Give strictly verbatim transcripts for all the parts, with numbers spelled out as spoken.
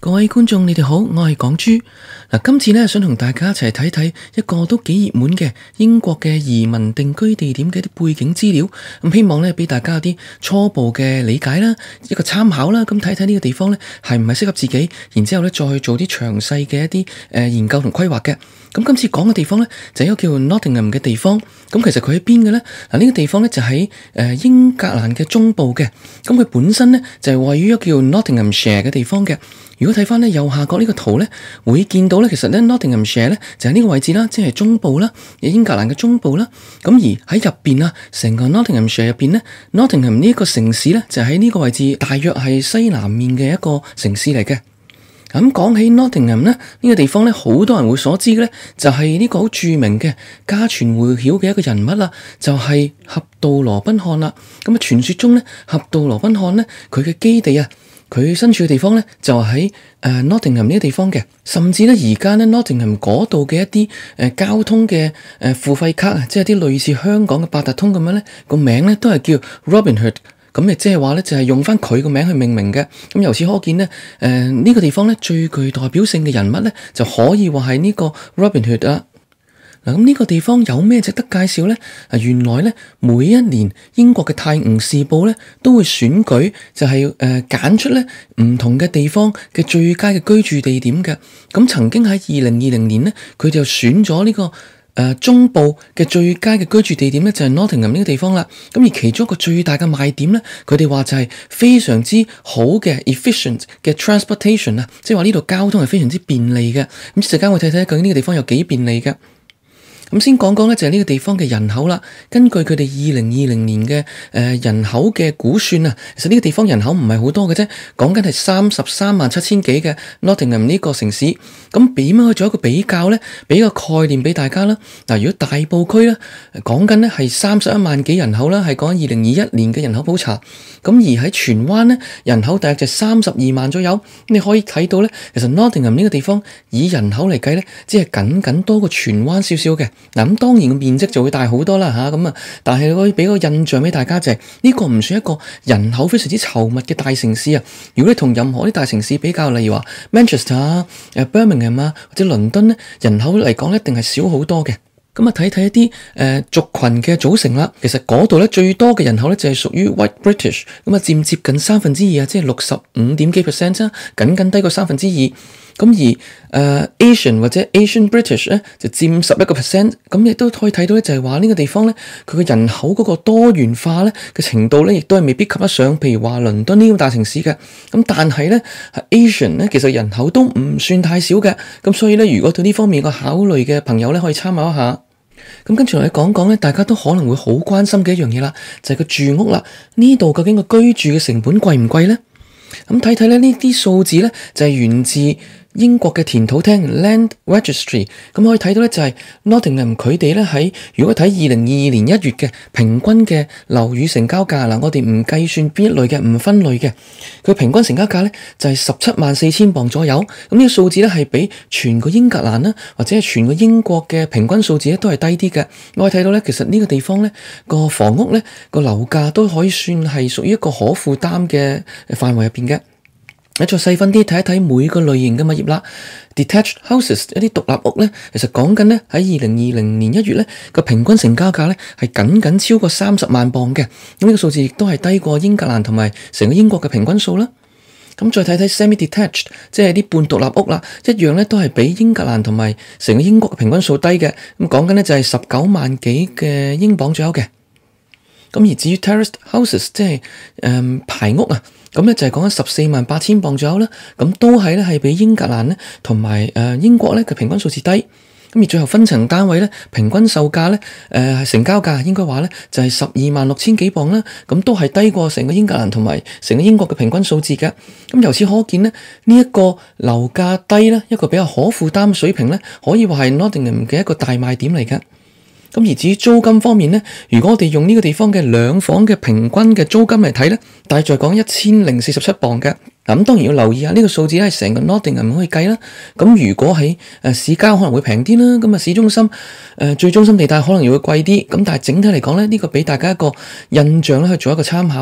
各位觀眾，你哋好，我係港豬。嗱，今次咧想同大家一齊睇睇一個都幾熱門嘅英國嘅移民定居地點嘅一啲背景資料，咁希望咧俾大家有啲初步嘅理解啦，一個參考啦，咁睇睇呢個地方咧係唔係適合自己，然之後咧再去做啲詳細嘅一啲誒研究同規劃嘅。咁今次講嘅地方咧就係一個叫 Nottingham 嘅地方，咁其實佢喺邊嘅咧？嗱，呢個地方咧就喺誒英格蘭嘅中部嘅，咁佢本身咧就係位於一個叫 Nottinghamshire 嘅地方嘅。如果睇翻咧右下角呢個圖咧，會見到咧，其實咧 Nottinghamshire 咧就係呢個位置啦，即係中部啦，英格蘭嘅中部啦。咁而喺入邊啊，成個 Nottinghamshire 入邊咧 ，Nottingham 呢一個城市咧就喺呢個位置，大約係西南面嘅一個城市嚟嘅。咁講起 Nottingham 咧，呢個地方咧，好多人會所知嘅咧，就係呢個好著名嘅家傳戶曉嘅一個人物啦，就係俠盜羅賓漢啦。咁啊，傳說中咧，俠盜羅賓漢咧，佢嘅基地啊，佢身處嘅地方咧，就喺誒 Nottingham 呢個地方嘅。甚至咧，而家咧 Nottingham 嗰度嘅一啲誒交通嘅誒付費卡啊，即係啲類似香港嘅八達通咁樣咧，個名咧都係叫 Robin Hood。咁亦即係話咧，就係用翻佢個名去命名嘅。咁由此可見咧，誒、呃、呢、這個地方咧最具代表性嘅人物咧，就可以話係呢個 Robin Hood 啦。嗱，咁呢個地方有咩值得介紹咧？啊，原來咧每一年英國嘅《泰晤士報》咧都會選舉，就係誒揀出咧唔同嘅地方嘅最佳嘅居住地點嘅。咁曾經喺二零二零年咧，佢就選咗呢、這個。誒、呃、中部嘅最佳嘅居住地點咧就係 Nottingham 呢個地方啦，咁而其中一個最大嘅賣點咧，佢哋話就係非常之好嘅 efficient 嘅 transportation 啊，即係話呢度交通係非常之便利嘅。咁一陣間我睇睇究竟呢個地方有幾便利嘅。咁先講講咧，就係呢個地方嘅人口啦。根據佢哋二零二零年嘅誒人口嘅估算啊，其實呢個地方人口唔係好多嘅啫，講緊係三十三萬七千幾嘅 Nottingham 呢個城市。咁點樣去做一個比較咧？俾個概念俾大家啦。嗱，如果大埔區咧，講緊咧係三十一萬幾人口啦，係講緊二零二一年嘅人口普查。咁而喺荃灣咧，人口大約就三十二萬左右。你可以睇到咧，其實 Nottingham 呢個地方以人口嚟計咧，只係僅僅多過荃灣少少嘅。嗱，咁當然個面積就會大好多啦吓，咁啊，但係可以俾個印象俾大家就係呢個唔算一個人口非常之稠密嘅大城市啊。如果你同任何啲大城市比較，例如話 Manchester 啊、誒 Birmingham 啊或者倫敦咧，人口嚟講一定係少好多嘅。咁啊，睇睇一啲誒、呃、族群嘅組成啦。其實嗰度咧最多嘅人口咧就係屬於 White British，咁啊佔接近三分之二啊，即係六十五點幾 percent 啦，僅僅低過三分之二。咁而誒、呃、Asian 或者 Asian British 咧就佔十一個 percent。咁亦都可以睇到咧，就係話呢個地方咧，佢嘅人口嗰個多元化咧嘅程度咧，亦都係未必及得上，譬如話倫敦呢個大城市嘅。咁但係咧，Asian 咧其實人口都唔算太少嘅。咁所以咧，如果對呢方面個考慮嘅朋友咧，可以參考一下。咁跟住嚟講講咧，大家都可能會好關心嘅一樣嘢啦，就係個住屋啦。呢度究竟個居住嘅成本貴唔貴咧？咁睇睇咧，呢啲數字咧就係源自英國嘅田土廳 Land Registry。咁可以睇到咧，就係 Nottingham 佢哋咧喺如果睇二零二二年一月嘅平均嘅樓宇成交價嗱，我哋唔計算邊一類嘅，唔分類嘅，佢平均成交價咧就係十七萬四千鎊左右。咁呢個數字咧係比全個英格蘭啦，或者係全個英國嘅平均數字咧都係低啲嘅。我可以睇到咧，其實呢個地方咧個房屋咧個樓價都可以算係屬於一個可負擔嘅範圍入邊嘅。再細分啲睇一睇每個類型嘅物業啦。Detached houses 一啲獨立屋咧，其實講緊咧喺二零二零年一月咧個平均成交價咧係僅僅超過三十萬鎊嘅。咁呢個數字亦都係低過英格蘭同埋成個英國嘅平均數啦。咁再睇睇 semi-detached， 即係啲半獨立屋啦，一樣咧都係比英格蘭同埋成個英國嘅平均數低嘅。咁講緊咧就係十九萬幾嘅英鎊左右嘅。咁而至於 terraced houses， 即係誒、嗯、排屋啊，咁咧就係講緊十四萬八千鎊左右啦。咁都係咧係比英格蘭咧同埋誒英國咧嘅平均數字低。咁而最後分層單位咧平均售價咧誒、呃、成交價應該話咧就係十二萬六千幾鎊啦。咁都係低過成個英格蘭同埋成個英國嘅平均數字嘅。咁由此可見咧，呢、這、一個樓價低咧，一個比較可負擔水平咧，可以話係 Nottingham 嘅一個大賣點嚟嘅。咁而至於租金方面咧，如果我哋用呢個地方嘅兩房嘅平均嘅租金嚟睇咧，大概講一千零四十七鎊嘅。咁當然要留意下呢個數字咧，係成個 Nottingham 可以計啦。咁如果喺誒市郊可能會平啲啦，咁啊市中心誒、呃、最中心地帶可能又會貴啲。咁但係整體嚟講咧，呢、這個俾大家一個印象咧，去做一個參考嘅。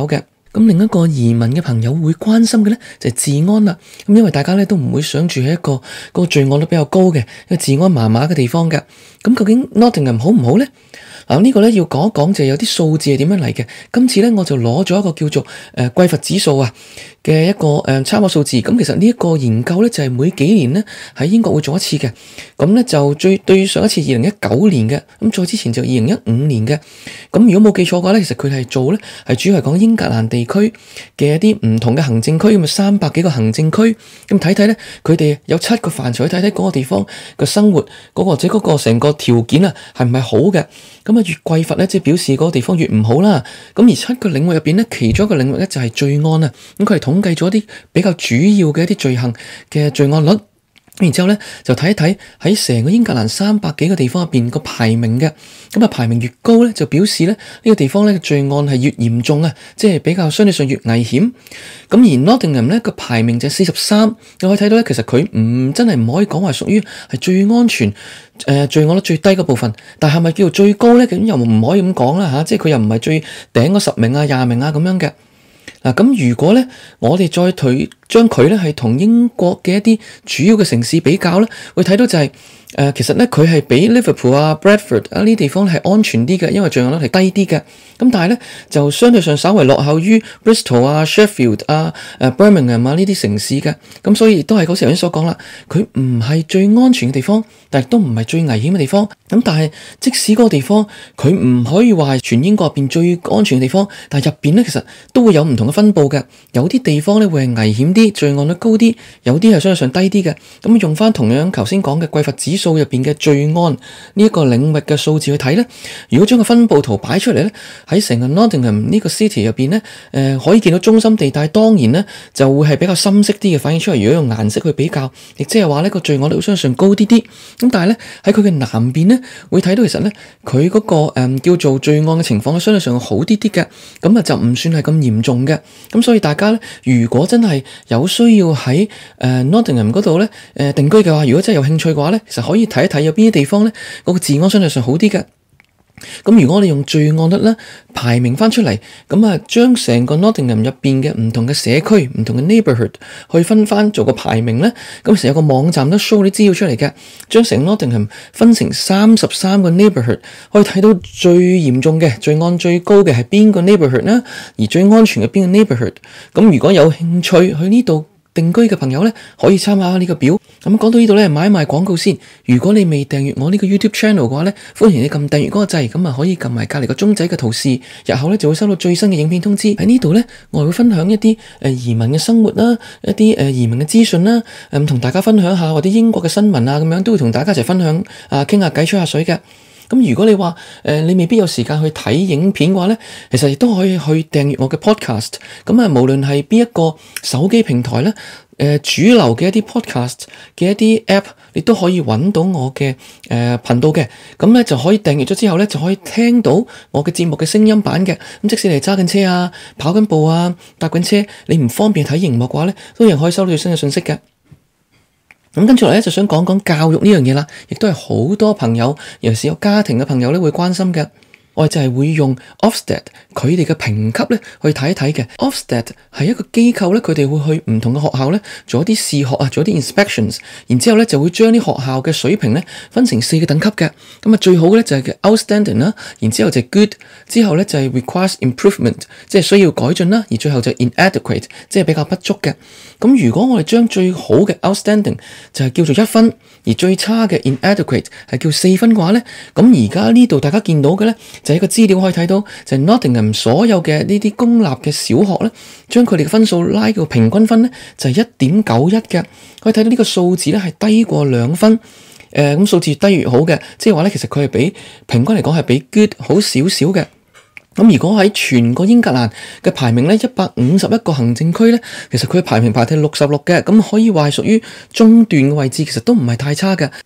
咁另一個移民嘅朋友會關心嘅咧就係治安啦。咁因為大家咧都唔會想住喺一個嗰個罪案率比較高嘅一個治安麻麻嘅地方嘅。咁究竟 Nottingham 好唔好咧？嗱，呢個咧要講一講就係有啲數字係點樣嚟嘅。今次咧我就攞咗一個叫做誒匱乏指數啊嘅一個誒參考數字。咁其實呢一個研究咧就係每幾年咧喺英國會做一次嘅。咁咧就最對上一次二零一九年嘅，咁再之前就二零一五年嘅。咁如果冇記錯嘅話咧，其實佢係做咧係主要係講英格蘭地區嘅一啲唔同嘅行政區，咁啊三百幾個行政區，咁睇睇咧佢哋有七個範疇去睇睇嗰個地方嘅生活嗰個或者嗰個成個條件啊係唔係好嘅。咁啊越匱乏咧，即係表示嗰個地方越唔好啦。咁而七個領域入邊咧，其中一個領域咧就係罪案啊。咁佢係統計咗一啲比較主要嘅一啲罪行嘅罪案率。然之後咧就睇一睇喺成個英格蘭三百幾個地方入邊個排名嘅。咁啊排名越高咧，就表示咧呢個地方咧罪案係越嚴重啊，即係比較相對上越危險。咁而 Nottingham 咧個排名就係四十三，你可以睇到咧，其實佢唔真係唔可以講話屬於係最安全誒、呃、罪案率最低嗰部分，但係咪叫做最高咧？咁又唔可以咁講啦吓，即係佢又唔係最頂嗰十名啊、廿名啊咁樣嘅。嗱，咁如果咧，我哋再推將佢咧係同英國嘅一啲主要嘅城市比較咧，會睇到就係、是、誒、呃，其實咧佢係比 Liverpool 啊、Bradford 啊呢啲地方係安全啲嘅，因為罪案率係低啲嘅。咁但係咧就相對上稍為落後於 Bristol 啊、Sheffield 啊、誒 Birmingham 啊呢啲城市嘅。咁所以都係嗰時頭先所講啦，佢唔係最安全嘅地方，但係都唔係最危險嘅地方。咁但係即使嗰個地方佢唔可以話係全英國入邊最安全嘅地方，但係入邊咧其實都會有唔同嘅分佈嘅。有啲地方咧會係危險啲，罪案率高啲，有啲係相對上低啲嘅。咁用翻同樣頭先講嘅匱乏指數入邊嘅罪案呢一個領域嘅數字去睇咧，如果將個分佈圖擺出嚟咧，喺成個 Nottingham 呢個 city 入邊咧，誒、呃、可以見到中心地帶當然咧就會係比較深色啲嘅反映出嚟。如果用顏色去比較，亦即係話呢個罪案率相對上高啲啲。咁但係咧喺佢嘅南邊咧會睇到其實咧佢嗰個誒、呃、叫做罪案嘅情況相對上好啲啲嘅，咁啊就唔算係咁嚴重嘅。咁所以大家咧如果真係有需要喺誒、呃、Nottingham 嗰度咧誒定居嘅話，如果真係有興趣嘅話咧，其實可以睇一睇有邊啲地方咧嗰、嗰個治安相對上好啲嘅。咁如果我哋用罪案率咧排名翻出嚟，咁啊將成個 Nottingham 入邊嘅唔同嘅社區、唔同嘅 neighborhood 去分翻做個排名咧，咁其實有個網站都 show 啲資料出嚟嘅，將成 Nottingham 分成三十三個 neighborhood，可以睇到最嚴重嘅罪案最高嘅係邊個 neighborhood 啦，而最安全嘅邊個 neighborhood。咁如果有興趣去呢度定居嘅朋友咧，可以參考下呢個表。咁講到呢度咧，買賣廣告先。如果你未訂閱我呢個 YouTube channel 嘅話咧，歡迎你撳訂閱嗰個掣，咁啊可以撳埋隔籬個鐘仔嘅圖示，日後咧就會收到最新嘅影片通知。喺呢度咧，我會分享一啲誒移民嘅生活啦，一啲誒移民嘅資訊啦，誒同大家分享下或者英國嘅新聞啊，咁樣都會同大家一齊分享啊，傾下偈，吹下水嘅。咁如果你話誒、呃、你未必有時間去睇影片嘅話咧，其實亦都可以去訂閱我嘅 podcast。咁啊，無論係邊一個手機平台咧，誒、呃、主流嘅一啲 podcast 嘅一啲 app，你都可以揾到我嘅誒頻道嘅。咁咧就可以訂閱咗之後咧，就可以聽到我嘅節目嘅聲音版嘅。咁即使你揸緊車啊、跑緊步啊、搭緊車，你唔方便睇熒幕嘅話咧，都仍可以收到最新嘅信息嘅。咁跟住嚟咧，就想講講教育呢樣嘢啦，亦都係好多朋友，尤其是有家庭嘅朋友咧，會關心嘅。我哋就係會用 Ofsted 佢哋嘅評級咧去睇一睇嘅。Ofsted 係一個機構咧，佢哋會去唔同嘅學校咧做一啲試學啊，做一啲 inspections，然之後咧就會將啲學校嘅水平咧分成四個等級嘅。咁啊最好嘅咧就係叫 outstanding 啦，然之後就係 good，之後咧就係 requires improvement，即係需要改進啦，而最後就係 inadequate，即係比較不足嘅。咁如果我哋將最好嘅 outstanding 就係叫做一分，而最差嘅 inadequate 係叫四分嘅話咧，咁而家呢度大家見到嘅咧，就係一個資料可以睇到，就係 Nottingham 所有嘅呢啲公立嘅小學咧，將佢哋嘅分數拉到平均分咧就係一點九一嘅，可以睇到呢個數字咧係低過兩分，誒咁數字越低越好嘅，即係話咧其實佢係比平均嚟講係比 good 好少少嘅。咁如果喺全個英格蘭嘅排名咧，一百五十一個行政區咧，其實佢嘅排名排第六十六嘅，咁可以話係屬於中段嘅位置，其實都唔係太差嘅。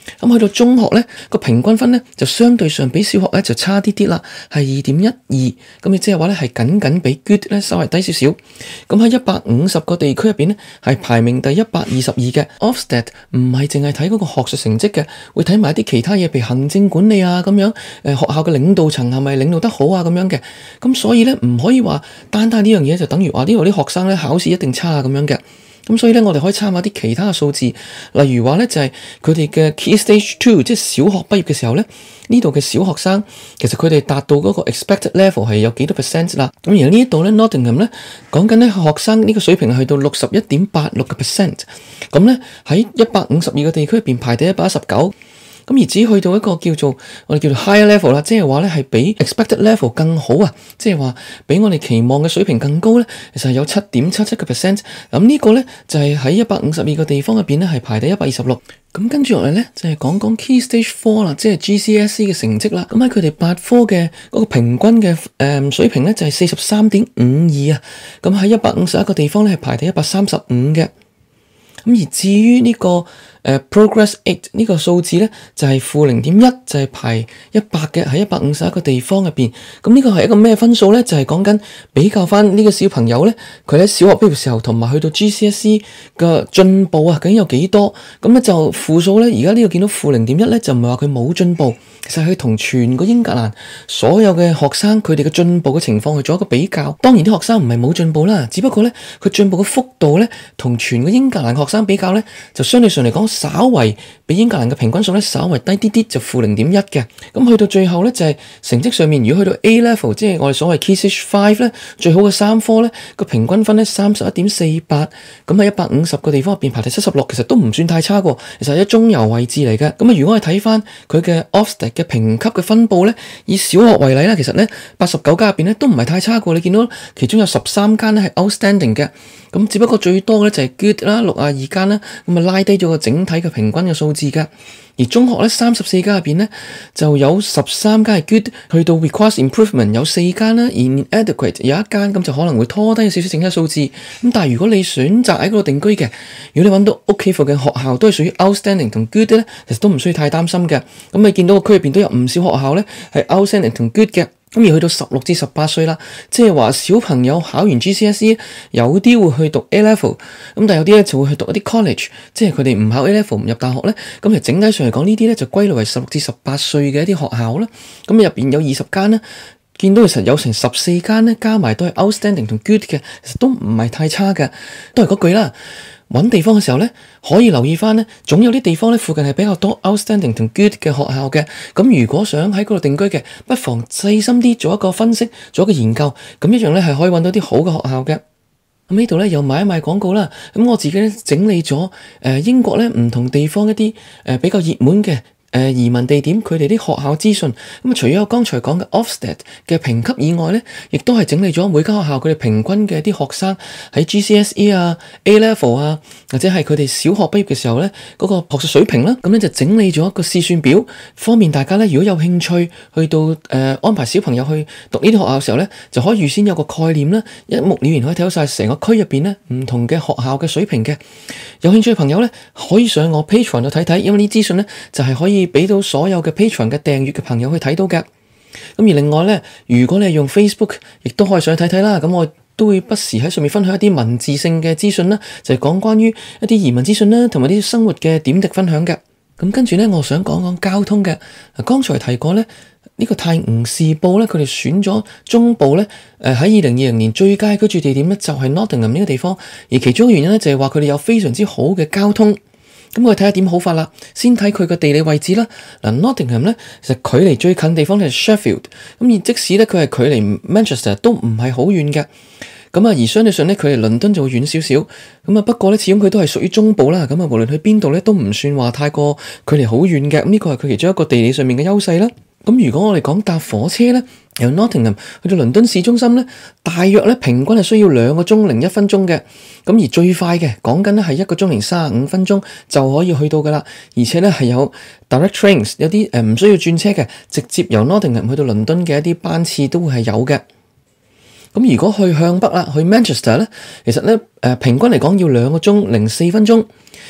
咁去到中學咧，個平均分咧就相對上比小學咧就差啲啲啦，係二點一二，咁亦即係話咧係僅僅比 good 咧稍微低少少。咁喺一百五十個地區入邊咧係排名第一百二十二嘅。Ofsted 唔係淨係睇嗰個學術成績嘅，會睇埋一啲其他嘢，譬如行政管理啊咁樣，誒學校嘅領導層係咪領導得好啊咁樣嘅。咁所以咧唔可以話單單呢樣嘢就等於話呢度啲學生咧考試一定差啊咁樣嘅。咁所以咧，我哋可以參考啲其他嘅數字，例如話咧就係佢哋嘅 Key Stage Two，即係小學畢業嘅時候咧，呢度嘅小學生其實佢哋達到嗰個 expected level 係有幾多 percent 啦。咁而呢一度咧 Nottingham 咧講緊咧學生呢個水平係去到六十一點八六個 percent，咁咧喺一百五十二個地區入邊排第一百一十九。咁而只去到一個叫做我哋叫做 higher level 啦，即係話咧係比 expected level 更好啊，即係話比我哋期望嘅水平更高咧，其實係有七點七七個 percent。咁呢個咧就係喺一百五十二個地方入邊咧係排第一百二十六。咁跟住落嚟咧就係講講 Key Stage Four 啦，即係 G C S E 嘅成績啦。咁喺佢哋八科嘅嗰個平均嘅誒水平咧就係四十三點五二啊。咁喺一百五十一個地方咧係排第一百三十五嘅。咁而至於呢、這個誒、uh, Progress Eight 呢個數字咧，就係負零點一，就係、是、排一百嘅喺一百五十一個地方入邊。咁呢個係一個咩分數咧？就係講緊比較翻呢個小朋友咧，佢喺小學畢業嘅時候同埋去到 G C S E 嘅進步啊，究竟有幾多？咁咧就負數咧，而家呢度見到負零點一咧，就唔係話佢冇進步，其實係同全個英格蘭所有嘅學生佢哋嘅進步嘅情況去做一個比較。當然啲學生唔係冇進步啦，只不過咧佢進步嘅幅度咧，同全個英格蘭學生比較咧，就相對上嚟講，稍為比英格蘭嘅平均數咧，稍為低啲啲，就負零點一嘅。咁去到最後咧，就係、是、成績上面，如果去到 A level， 即係我哋所謂 Key Stage Five 咧，最好嘅三科咧，個平均分咧三十一點四八，咁喺一百五十個地方入邊排第七十六，其實都唔算太差喎。其實係一中游位置嚟嘅。咁啊，如果我哋睇翻佢嘅 Ofsted 嘅評級嘅分佈咧，以小學為例啦，其實咧八十九間入邊咧都唔係太差喎。你見到其中有十三間咧係 outstanding 嘅。咁只不過最多咧就係 good 啦，六十二間啦，咁啊拉低咗個整體嘅平均嘅數字噶。而中學咧三十四間入邊咧就有十三間係 good，去到 requires improvement 有四間啦，而 inadequate 有一間，咁就可能會拖低少少整體數字。咁但係如果你選擇喺嗰度定居嘅，如果你揾到屋企附近學校都係屬於 outstanding 同 good 咧，其實都唔需要太擔心嘅。咁你見到個區入邊都有唔少學校咧係 outstanding 同 good 嘅。咁而去到十六至十八歲啦，即係話小朋友考完 G C S E， 有啲會去讀 A level， 咁但係有啲咧就會去讀一啲 college，即係佢哋唔考 A level 唔入大學咧。咁其實整體上嚟講，呢啲咧就歸類為十六至十八歲嘅一啲學校啦。咁入邊有二十間咧，見到其實有成十四間咧，加埋都係 outstanding 同 good 嘅，其實都唔係太差嘅。都係嗰句啦。揾地方嘅時候咧，可以留意翻咧，總有啲地方咧附近係比較多 outstanding 同 good 嘅學校嘅。咁如果想喺嗰度定居嘅，不妨細心啲做一個分析，做一個研究，咁一樣咧係可以揾到啲好嘅學校嘅。咁呢度咧又賣一賣廣告啦。咁我自己咧整理咗誒、呃、英國咧唔同地方一啲誒、呃、比較熱門嘅。誒移民地點佢哋啲學校資訊，咁啊除咗我剛才講嘅 Ofsted 嘅評級以外咧，亦都係整理咗每間學校佢哋平均嘅啲學生喺 G C S E 啊、A level 啊，或者係佢哋小學畢業嘅時候咧嗰個學術水平啦，咁咧就整理咗一個試算表，方便大家咧如果有興趣去到誒、呃、安排小朋友去讀呢啲學校嘅時候咧，就可以預先有個概念啦，一目了然可以睇到晒成個區入邊咧唔同嘅學校嘅水平嘅。有興趣嘅朋友咧可以上我 Patreon 度睇睇，因為呢啲資訊咧就係可以俾到所有嘅 Patreon 嘅訂閱嘅朋友去睇到嘅。咁而另外咧，如果你係用 Facebook，亦都可以上去睇睇啦。咁我都會不時喺上面分享一啲文字性嘅資訊啦，就係講關於一啲移民資訊啦，同埋啲生活嘅點滴分享嘅。咁跟住咧，我想講講交通嘅。剛才提過咧，呢個泰晤士報咧，佢哋選咗中部咧，誒喺二零二零年最佳居住地點咧，就係 Nottingham 呢個地方。而其中嘅原因咧，就係話佢哋有非常之好嘅交通。咁我哋睇下點好法啦。先睇佢嘅地理位置啦。嗱 Nottingham 咧，其實距離最近地方係 Sheffield。咁而即使咧佢係距離 Manchester 都唔係好遠嘅。咁啊，而相對上咧，佢哋倫敦就會遠少少。咁啊，不過咧，始終佢都係屬於中部啦。咁啊，無論去邊度咧，都唔算話太過距離好遠嘅。咁呢個係佢其中一個地理上面嘅優勢啦。咁如果我哋講搭火車咧，由 Nottingham 去到倫敦市中心咧，大約咧平均係需要兩個鐘零一分鐘嘅。咁而最快嘅講緊咧係一個鐘零三十五分鐘就可以去到噶啦。而且咧係有 direct trains， 有啲誒唔需要轉車嘅，直接由 Nottingham 去到倫敦嘅一啲班次都會係有嘅。咁如果去向北啦，去 Manchester 咧，其實咧誒平均嚟講要兩個鐘零四分鐘。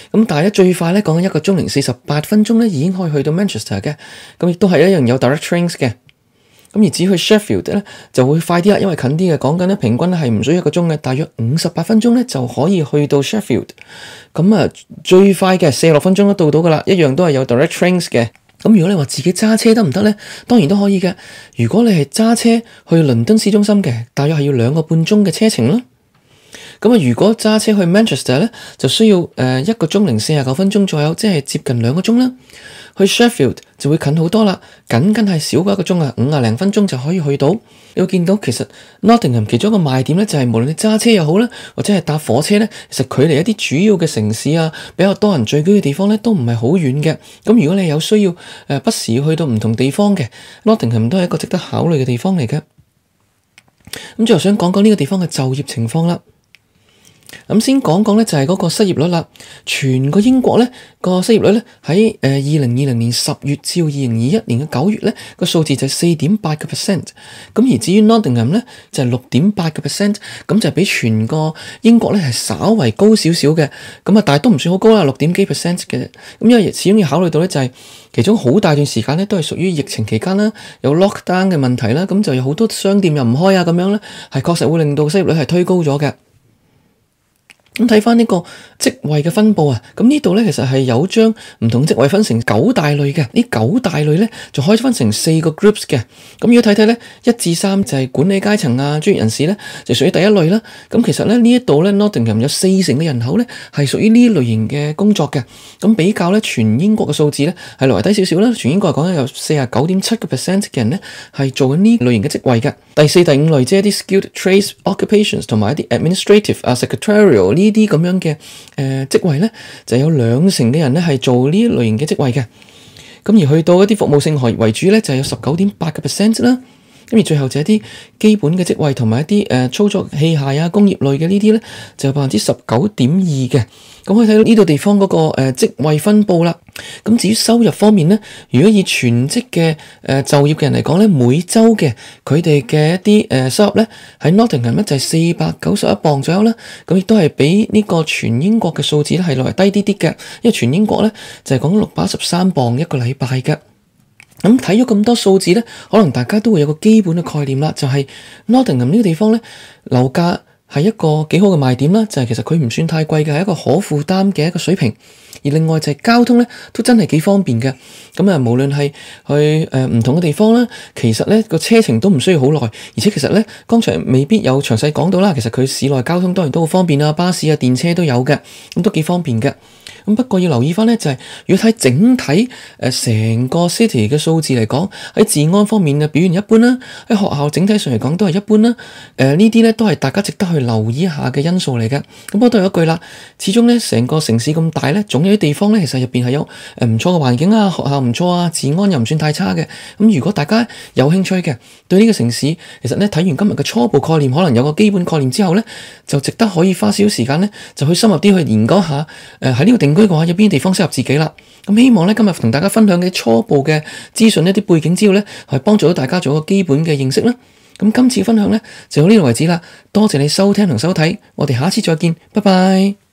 咁但係咧最快咧講緊一個鐘零四十八分鐘咧已經可以去到 Manchester 嘅，咁亦都係一樣有 direct trains 嘅。咁而至於去 Sheffield 咧就會快啲啦，因為近啲嘅，講緊咧平均係唔需要一個鐘嘅，大約五十八分鐘咧就可以去到 Sheffield。咁啊最快嘅四十六分鐘都到到噶啦，一樣都係有 direct trains 嘅。咁如果你話自己揸車得唔得咧？當然都可以嘅。如果你係揸車去倫敦市中心嘅，大約係要兩個半鐘嘅車程啦。咁啊，如果揸車去 Manchester 咧，就需要誒一個鐘零四十九分鐘左右，即係接近兩個鐘啦。去 Sheffield 就會近好多啦，僅僅係少過一個鐘啊，五啊零分鐘就可以去到。你會見到其實 Nottingham 其中一個賣點咧，就係無論你揸車又好啦，或者係搭火車咧，其實距離一啲主要嘅城市啊，比較多人聚居嘅地方咧，都唔係好遠嘅。咁如果你有需要誒不時去到唔同地方嘅 Nottingham 都係一個值得考慮嘅地方嚟嘅。咁最後想講講呢個地方嘅就業情況啦。咁先講講咧，就係嗰個失業率啦。全個英國咧個失業率咧喺誒二零二零年十月至二零二一年嘅九月咧個數字就係四點八個 percent。咁而至於 Nottingham 咧就係六點八個 percent，咁就係比全個英國咧係稍為高少少嘅。咁啊，但係都唔算好高啦，六點幾 percent 嘅。咁因為始終要考慮到咧，就係其中好大段時間咧都係屬於疫情期間啦，有 lockdown 嘅問題啦，咁就有好多商店又唔開啊，咁樣咧係確實會令到失業率係推高咗嘅。咁睇翻呢個職位嘅分佈啊，咁呢度咧其實係有將唔同職位分成九大類嘅，呢九大類咧就可以分成四個 groups 嘅。咁如果睇睇咧，一至三就係管理階層啊、專業人士咧，就屬於第一類啦。咁其實咧呢一度咧 Nottingham 有四成嘅人口咧係屬於呢類型嘅工作嘅。咁比較咧全英國嘅數字咧係略為低少少啦。全英國嚟講咧有四十九點七個 percent 嘅人咧係做緊呢類型嘅職位嘅。第四、第五類即係一啲 skilled trades occupations 同埋一啲 administrative 啊、secretarial 呢啲咁樣嘅誒、呃、職位咧，就有兩成嘅人咧係做呢一類型嘅職位嘅。咁而去到一啲服務性行業為主咧，就有十九點八個 percent 啦。咁而最後就係一啲基本嘅職位同埋一啲誒、呃、操作器械啊、工業類嘅呢啲咧，就有百分之十九點二嘅。咁可以睇到呢度地方嗰、那個誒、呃、職位分佈啦。咁至於收入方面咧，如果以全職嘅誒、呃、就業嘅人嚟講咧，每週嘅佢哋嘅一啲誒、呃、收入咧，喺 Nottingham 咧就係四百九十一磅左右啦。咁亦都係比呢個全英國嘅數字咧係略為低啲啲嘅，因為全英國咧就係講六百一十三磅一個禮拜嘅。咁睇咗咁多數字咧，可能大家都會有個基本嘅概念啦，就係、是、Nottingham 呢個地方咧，樓價係一個幾好嘅賣點啦，就係、是、其實佢唔算太貴嘅，係一個可負擔嘅一個水平。而另外就係交通咧，都真係幾方便嘅。咁啊，無論係去誒唔同嘅地方啦，其實咧個車程都唔需要好耐，而且其實咧，剛才未必有詳細講到啦。其實佢市內交通當然都好方便啊，巴士啊、電車都有嘅，咁都幾方便嘅。咁不過要留意翻咧，就係、是、如果睇整體誒成、呃、個 city 嘅數字嚟講，喺治安方面嘅表現一般啦，喺學校整體上嚟講都係一般啦。誒、呃、呢啲咧都係大家值得去留意一下嘅因素嚟嘅。咁不過都有一句啦，始終咧成個城市咁大咧，總有啲地方咧其實入邊係有誒唔錯嘅環境啊，學校唔錯啊，治安又唔算太差嘅。咁如果大家有興趣嘅，對呢個城市其實咧睇完今日嘅初步概念，可能有個基本概念之後咧，就值得可以花少少時間咧，就去深入啲去研究下誒喺呢個定居嘅話，有邊啲地方適合自己啦。咁希望咧今日同大家分享嘅初步嘅資訊，一啲背景資料咧，係幫助到大家做一個基本嘅認識啦。咁今次分享咧就到呢度為止啦，多謝你收聽同收睇，我哋下次再見，拜拜。